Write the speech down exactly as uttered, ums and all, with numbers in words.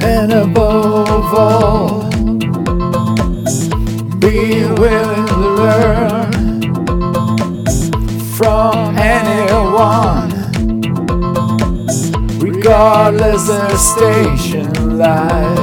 And above all, be willing to learn from anyone, regardless their station in life.